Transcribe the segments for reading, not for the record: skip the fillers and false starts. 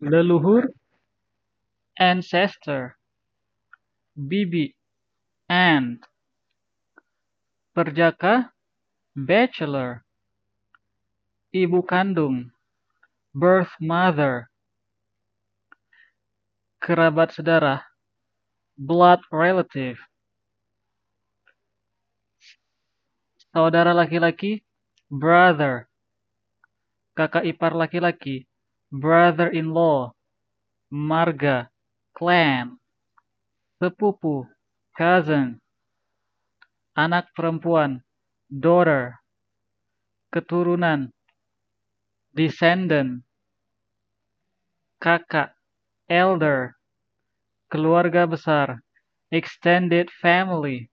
leluhur, ancestor, bibi, aunt, perjaka, bachelor, ibu kandung, birth mother, kerabat saudara, blood relative, saudara laki-laki, brother, kakak ipar laki-laki, brother-in-law, marga, clan, sepupu, cousin, anak perempuan, daughter, keturunan, descendant, kakak, elder, keluarga besar, extended family,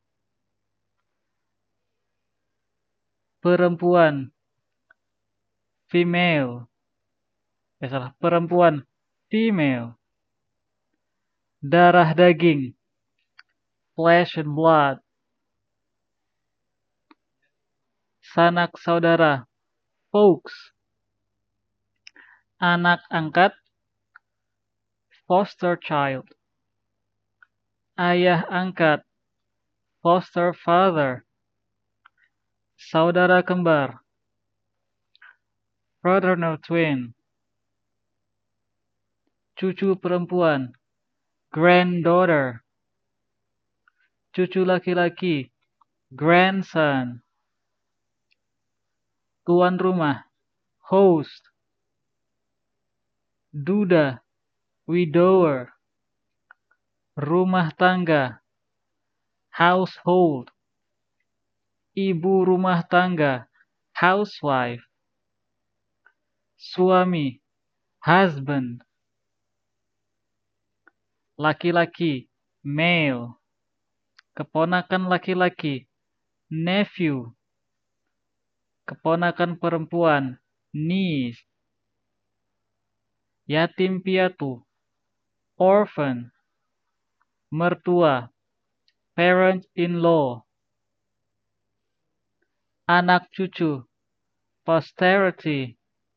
perempuan, female, perempuan, female, darah daging, flesh and blood, sanak saudara, folks, anak angkat, foster child, ayah angkat, foster father, saudara kembar, fraternal twin, cucu perempuan, granddaughter, cucu laki-laki, grandson, tuan rumah, host, duda, widower, rumah tangga, household, ibu rumah tangga, housewife, suami, husband, laki-laki, male, keponakan laki-laki, nephew, keponakan perempuan, niece, yatim piatu, orphan, mertua, parent-in-law, anak cucu, posterity,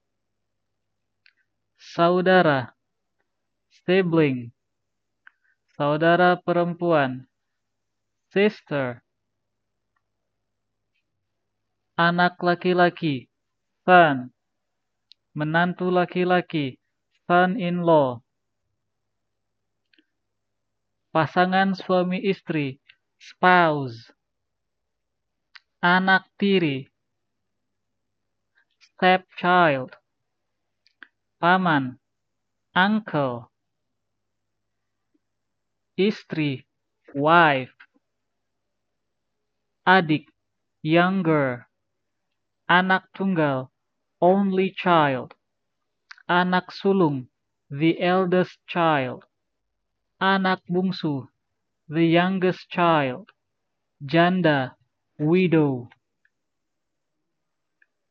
saudara, sibling, saudara perempuan, sister, anak laki-laki, son, menantu laki-laki, son-in-law, pasangan suami istri, spouse, anak tiri, stepchild, paman, uncle, istri, wife, adik, younger, anak tunggal, only child, anak sulung, the eldest child, anak bungsu, the youngest child, janda, widow.